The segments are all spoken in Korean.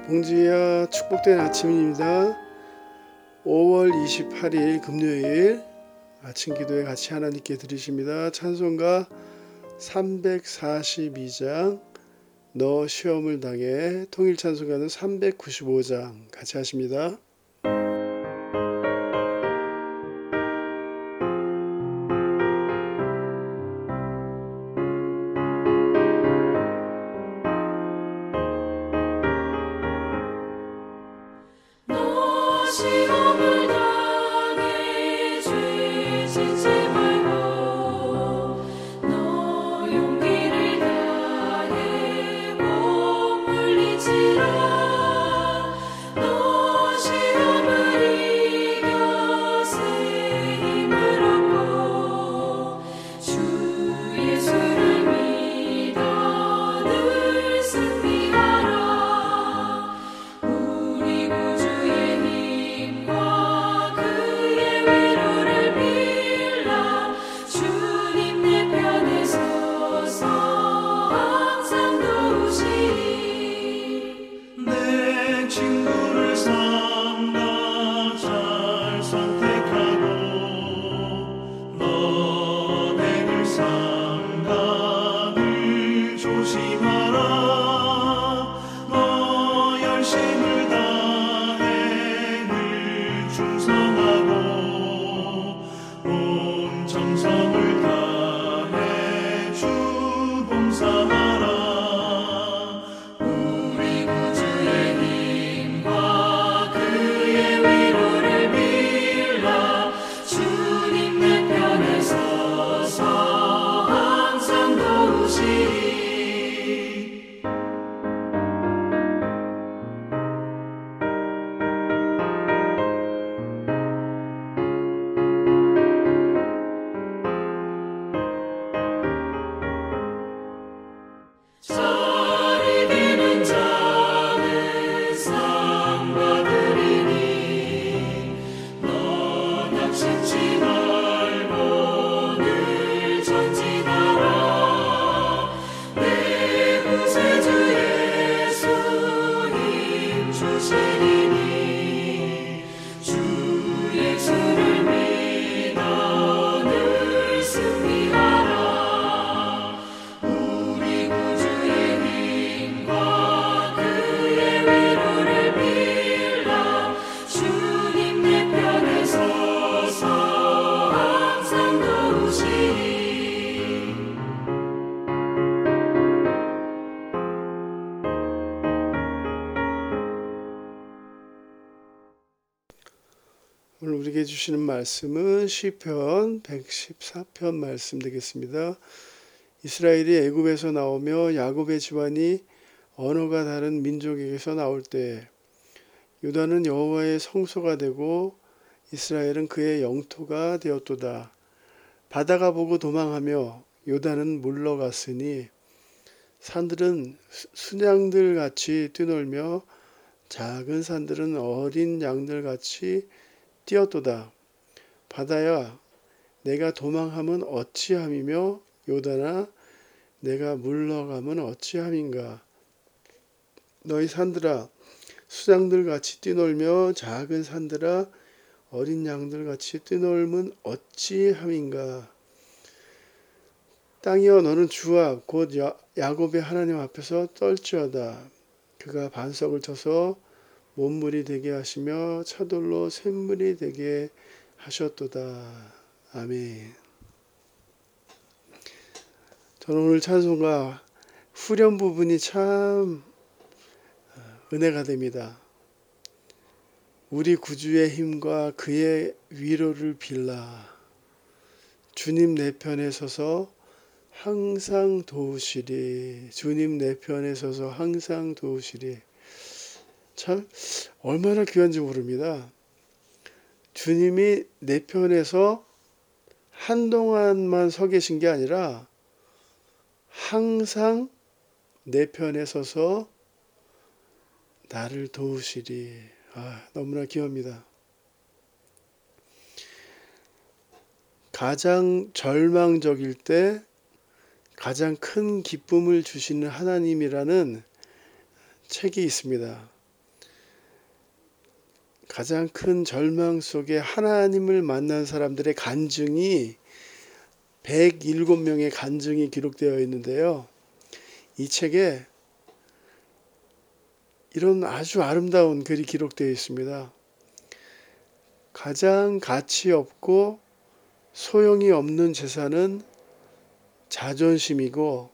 봉지야, 축복된 아침입니다. 5월 28일 금요일 아침 기도에 같이 하나님께 드리십니다. 찬송가 342장 너 시험을 당해, 통일 찬송가는 395장 같이 하십니다. 시험을 당해 죄 짓지 말고 너 용기를 다해 못 물리치라. 너 시험을 이겨 새 힘을 얻고 주 예수를 믿어 늘 승리하라. 우리 구주의 힘과 그의 위로를 빌라. 주님 내 편에 서서 항상 도우시리. 내 친구를 삼가 잘 선택하고 너를 삼가 늘 조심하라. 너 열심을 다해 늘 충성하고 온 정성을 다해 주 봉사하라. 우리 구주의 힘과 그의 위로를 빌라. 주님 내 편에 서서 항상 도우시리. 잘 이기는 자는 상 받으리니 너 낙심치 말고 늘 전진하라. 내 구세주 예수 힘 주시리니 주 예수를 믿어 늘 승리하라. 우리 구주의 힘과 그의 위로를 빌라. 주님 내 편에 서서 항상 도우시리. 오늘 우리에게 주시는 말씀은 시편 114편 말씀 되겠습니다. 이스라엘이 애굽에서 나오며 야곱의 집안이 언어가 다른 민족에게서 나올 때 유다는 여호와의 성소가 되고 이스라엘은 그의 영토가 되었도다. 바다가 보고 도망하며 유다는 물러갔으니 산들은 순양들 같이 뛰놀며 작은 산들은 어린 양들 같이 뛰었도다. 바다야, 내가 도망하면 어찌함이며 요단아, 내가 물러가면 어찌함인가. 너희 산들아, 수양들 같이 뛰놀며 작은 산들아, 어린 양들 같이 뛰놀면 어찌함인가. 땅이여, 너는 주와 곧 야곱의 하나님 앞에서 떨지어다. 그가 반석을 쳐서 못물이 되게 하시며 차돌로 샘물이 되게 하셨도다. 아멘. 저는 오늘 찬송가 후렴 부분이 참 은혜가 됩니다. 우리 구주의 힘과 그의 위로를 빌라. 주님 내 편에 서서 항상 도우시리. 주님 내 편에 서서 항상 도우시리. 참 얼마나 귀한지 모릅니다. 주님이 내 편에서 한동안만 서 계신 게 아니라 항상 내 편에 서서 나를 도우시리. 너무나 귀합니다. 가장 절망적일 때 가장 큰 기쁨을 주시는 하나님이라는 책이 있습니다. 가장 큰 절망 속에 하나님을 만난 사람들의 간증이 107명의 간증이 기록되어 있는데요. 이 책에 이런 아주 아름다운 글이 기록되어 있습니다. 가장 가치 없고 소용이 없는 재산은 자존심이고,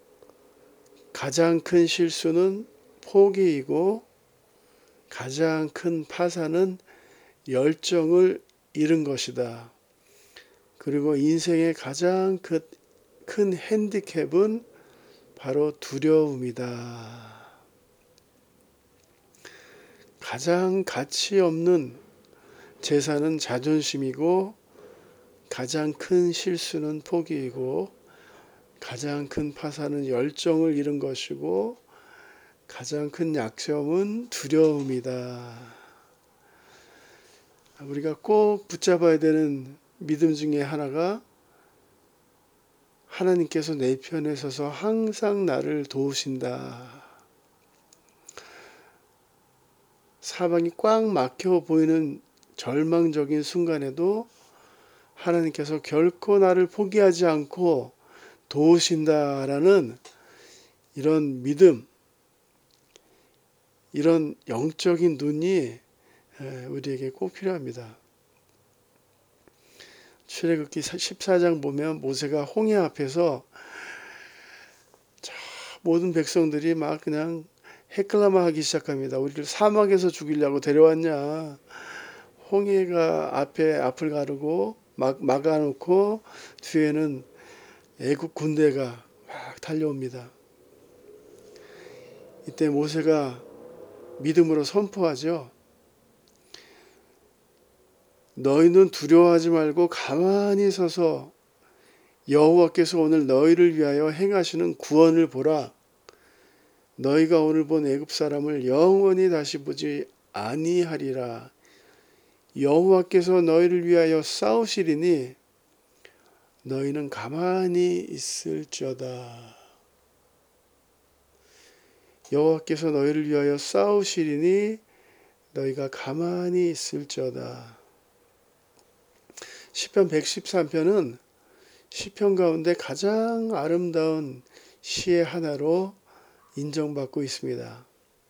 가장 큰 실수는 포기이고, 가장 큰 파산은 열정을 잃은 것이다. 그리고 인생의 가장 큰 핸디캡은 바로 두려움이다. 가장 가치 없는 재산은 자존심이고, 가장 큰 실수는 포기이고, 가장 큰 파산은 열정을 잃은 것이고, 가장 큰 약점은 두려움이다. 우리가 꼭 붙잡아야 되는 믿음 중에 하나가, 하나님께서 내 편에 서서 항상 나를 도우신다. 사방이 꽉 막혀 보이는 절망적인 순간에도 하나님께서 결코 나를 포기하지 않고 도우신다라는 이런 믿음, 이런 영적인 눈이 우리에게 꼭 필요합니다. 출애굽기 14장 보면 모세가 홍해 앞에서 모든 백성들이 막 그냥 헤클라마하기 시작합니다. 우리를 사막에서 죽이려고 데려왔냐. 홍해가 앞을 가르고 막아놓고 뒤에는 애국 군대가 막 달려옵니다. 이때 모세가 믿음으로 선포하죠. 너희는 두려워하지 말고 가만히 서서 여호와께서 오늘 너희를 위하여 행하시는 구원을 보라. 너희가 오늘 본 애굽 사람을 영원히 다시 보지 아니하리라. 여호와께서 너희를 위하여 싸우시리니 너희는 가만히 있을지어다. 여호와께서 너희를 위하여 싸우시리니 너희가 가만히 있을지어다. 시편 113편은 시편 가운데 가장 아름다운 시의 하나로 인정받고 있습니다.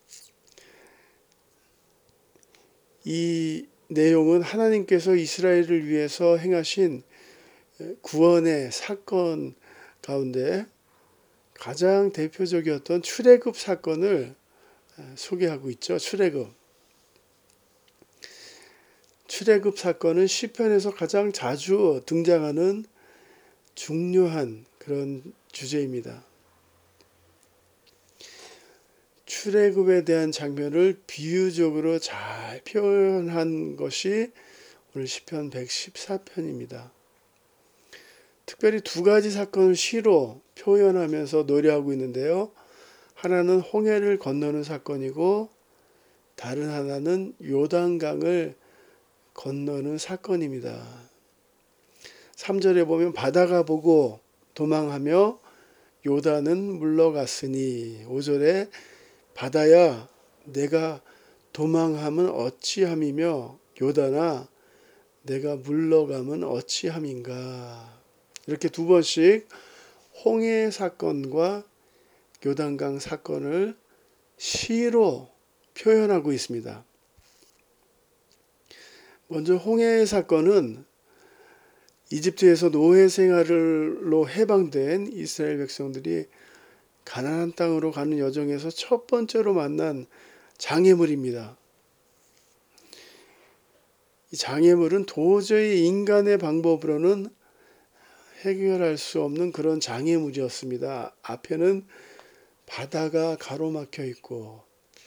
이 내용은 하나님께서 이스라엘을 위해서 행하신 구원의 사건 가운데 가장 대표적이었던 출애굽 사건을 소개하고 있죠. 출애굽 사건은 시편에서 가장 자주 등장하는 중요한 그런 주제입니다. 출애굽에 대한 장면을 비유적으로 잘 표현한 것이 오늘 시편 114편입니다. 특별히 두 가지 사건을 시로 표현하면서 노래하고 있는데요. 하나는 홍해를 건너는 사건이고 다른 하나는 요단강을 건너는 사건입니다. 3절에 보면 바다가 보고 도망하며 요단은 물러갔으니, 5절에 바다야 내가 도망하면 어찌함이며 요단아 내가 물러가면 어찌함인가. 이렇게 두 번씩 홍해 사건과 요단강 사건을 시로 표현하고 있습니다. 먼저 홍해 사건은 이집트에서 노예 생활로 해방된 이스라엘 백성들이 가나안 땅으로 가는 여정에서 첫 번째로 만난 장애물입니다. 이 장애물은 도저히 인간의 방법으로는 해결할 수 없는 그런 장애물이었습니다. 앞에는 바다가 가로막혀 있고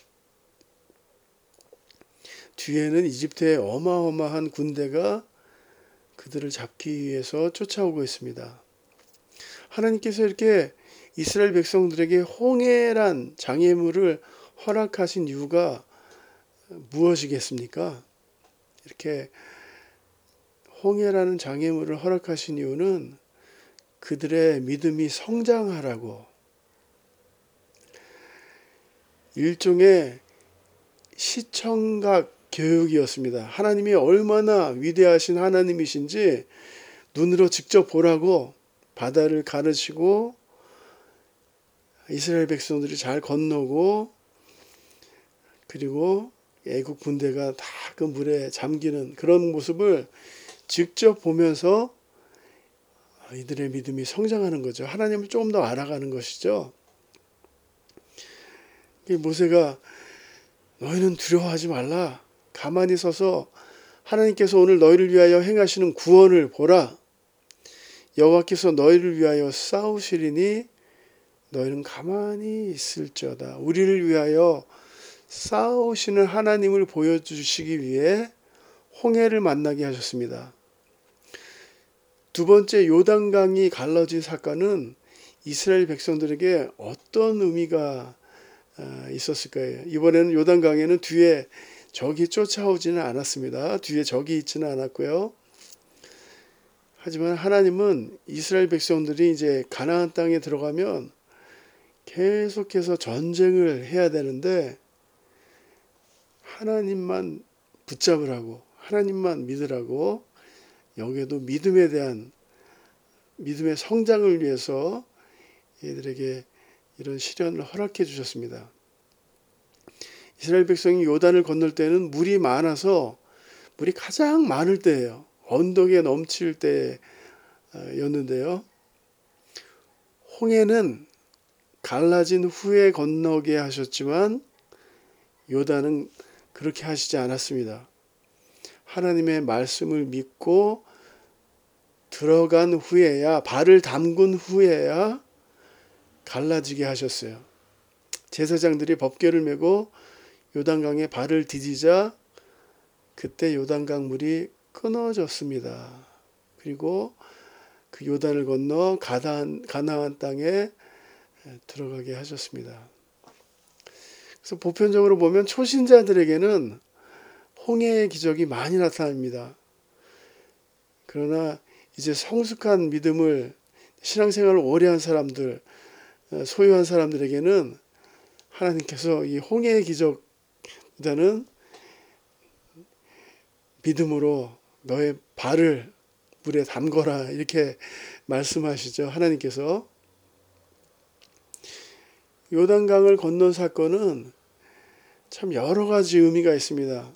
뒤에는 이집트의 어마어마한 군대가 그들을 잡기 위해서 쫓아오고 있습니다. 하나님께서 이렇게 이스라엘 백성들에게 홍해란 장애물을 허락하신 이유가 무엇이겠습니까? 이렇게 홍해라는 장애물을 허락하신 이유는 그들의 믿음이 성장하라고, 일종의 시청각 교육이었습니다. 하나님이 얼마나 위대하신 하나님이신지 눈으로 직접 보라고 바다를 가르치고 이스라엘 백성들이 잘 건너고 그리고 애국 군대가 다 그 물에 잠기는 그런 모습을 직접 보면서 이들의 믿음이 성장하는 거죠. 하나님을 조금 더 알아가는 것이죠. 모세가 너희는 두려워하지 말라. 가만히 서서 하나님께서 오늘 너희를 위하여 행하시는 구원을 보라. 여호와께서 너희를 위하여 싸우시리니 너희는 가만히 있을지어다. 우리를 위하여 싸우시는 하나님을 보여주시기 위해 홍해를 만나게 하셨습니다. 두 번째 요단강이 갈라진 사건은 이스라엘 백성들에게 어떤 의미가 있었을 거예요. 이번에는 요단강에는 뒤에 적이 쫓아오지는 않았습니다. 뒤에 적이 있지는 않았고요. 하지만 하나님은 이스라엘 백성들이 이제 가나안 땅에 들어가면 계속해서 전쟁을 해야 되는데 하나님만 붙잡으라고, 하나님만 믿으라고, 여기에도 믿음에 대한 믿음의 성장을 위해서 얘들에게 이런 시련을 허락해 주셨습니다. 이스라엘 백성이 요단을 건널 때는 물이 많아서 물이 가장 많을 때예요. 언덕에 넘칠 때였는데요. 홍해는 갈라진 후에 건너게 하셨지만 요단은 그렇게 하시지 않았습니다. 하나님의 말씀을 믿고 들어간 후에야, 발을 담근 후에야 갈라지게 하셨어요. 제사장들이 법궤를 메고 요단강에 발을 디디자 그때 요단강 물이 끊어졌습니다. 그리고 그 요단을 건너 가나안 땅에 들어가게 하셨습니다. 그래서 보편적으로 보면 초신자들에게는 홍해의 기적이 많이 나타납니다. 그러나 이제 성숙한 믿음을 신앙생활을 오래 한 사람들, 소유한 사람들에게는 하나님께서 이 홍해의 기적보다는 믿음으로 너의 발을 물에 담거라 이렇게 말씀하시죠. 하나님께서. 요단강을 건넌 사건은 참 여러 가지 의미가 있습니다.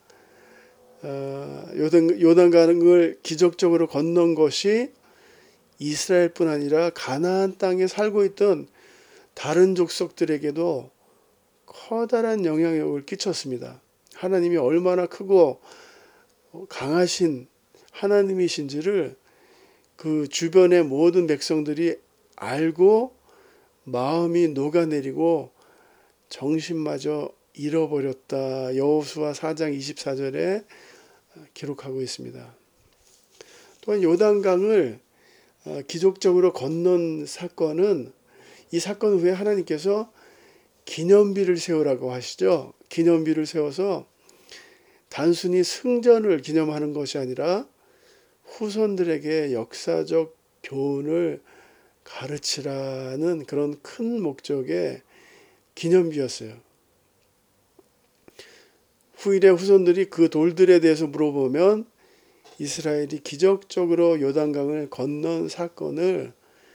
요단강을 기적적으로 건넌 것이 이스라엘뿐 아니라 가나안 땅에 살고 있던 다른 족속들에게도 커다란 영향력을 끼쳤습니다. 하나님이 얼마나 크고 강하신 하나님이신지를 그 주변의 모든 백성들이 알고 마음이 녹아내리고 정신마저 잃어버렸다. 여호수아 4장 24절에 기록하고 있습니다. 또한 요단강을 기적적으로 건넌 사건은 이 사건 후에 하나님께서 기념비를 세우라고 하시죠. 기념비를 세워서 단순히 승전을 기념하는 것이 아니라 후손들에게 역사적 교훈을 가르치라는 그런 큰 목적의 기념비였어요. 후일의 후손들이 그 돌들에 대해서 물어보면 이스라엘이 기적적으로 요단강을 건넌 사건을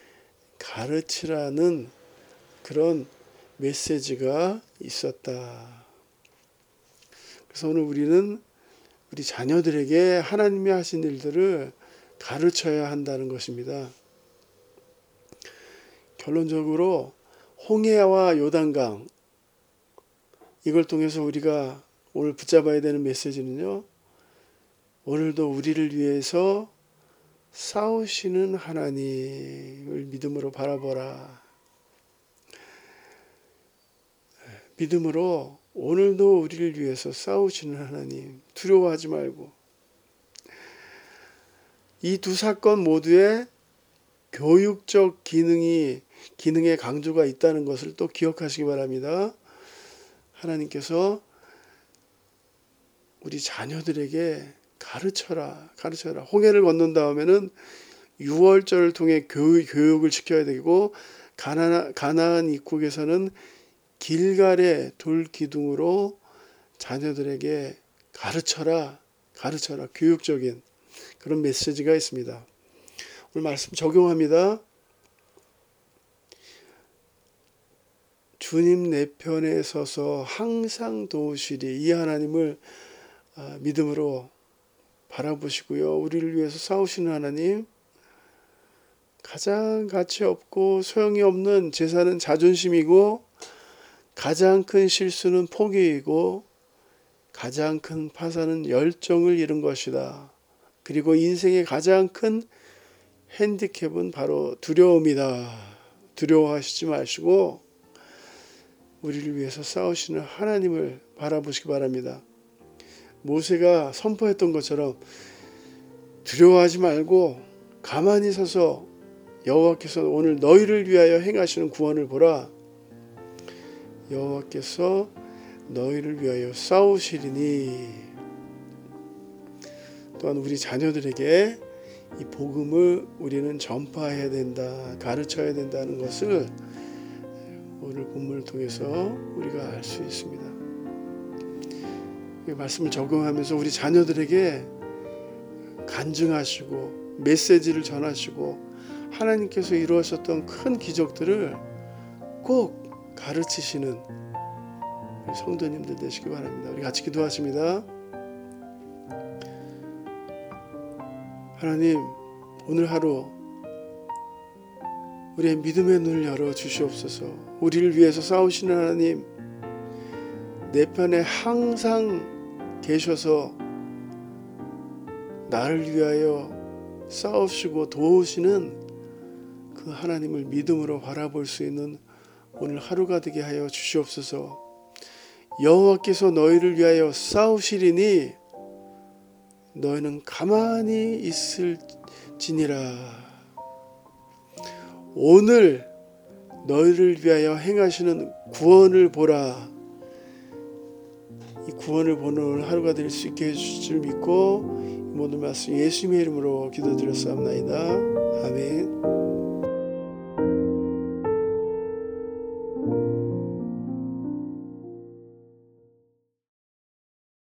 가르치라는 그런 메시지가 있었다. 그래서 오늘 우리는 우리 자녀들에게 하나님이 하신 일들을 가르쳐야 한다는 것입니다. 결론적으로 홍해와 요단강, 이걸 통해서 우리가 오늘 붙잡아야 되는 메시지는요, 오늘도 우리를 위해서 싸우시는 하나님을 믿음으로 바라보라. 믿음으로 오늘도 우리를 위해서 싸우시는 하나님, 두려워하지 말고. 이 두 사건 모두에 교육적 기능의 강조가 있다는 것을 또 기억하시기 바랍니다. 하나님께서 우리 자녀들에게 가르쳐라. 홍해를 건넌 다음에는 유월절을 통해 교육을 시켜야 되고, 가나안 입국에서는 길갈의 돌 기둥으로 자녀들에게 가르쳐라, 교육적인 그런 메시지가 있습니다. 오늘 말씀 적용합니다. 주님 내 편에 서서 항상 도우시리, 이 하나님을 믿음으로 바라보시고요. 우리를 위해서 싸우시는 하나님, 가장 가치 없고 소용이 없는 제사는 자존심이고, 가장 큰 실수는 포기이고, 가장 큰 파산은 열정을 잃은 것이다. 그리고 인생의 가장 큰 핸디캡은 바로 두려움이다. 두려워하시지 마시고 우리를 위해서 싸우시는 하나님을 바라보시기 바랍니다. 모세가 선포했던 것처럼 두려워하지 말고 가만히 서서 여호와께서 오늘 너희를 위하여 행하시는 구원을 보라. 여호와께서 너희를 위하여 싸우시리니. 또한 우리 자녀들에게 이 복음을 우리는 전파해야 된다, 가르쳐야 된다는 것을 오늘 본문을 통해서 우리가 알 수 있습니다. 이 말씀을 적용하면서 우리 자녀들에게 간증하시고 메시지를 전하시고 하나님께서 이루었었던 큰 기적들을 꼭 가르치시는 성도님들 되시기 바랍니다. 우리 같이 기도하십니다. 하나님, 오늘 하루 우리의 믿음의 눈을 열어 주시옵소서. 우리를 위해서 싸우시는 하나님, 내 편에 항상 계셔서 나를 위하여 싸우시고 도우시는 그 하나님을 믿음으로 바라볼 수 있는 오늘 하루가 되게 하여 주시옵소서. 여호와께서 너희를 위하여 싸우시리니 너희는 가만히 있을지니라. 오늘 너희를 위하여 행하시는 구원을 보라. 이 구원을 보는 오늘 하루가 될 수 있게 해주실 줄 믿고 이 모든 말씀 예수님의 이름으로 기도드렸사옵나이다. 아멘.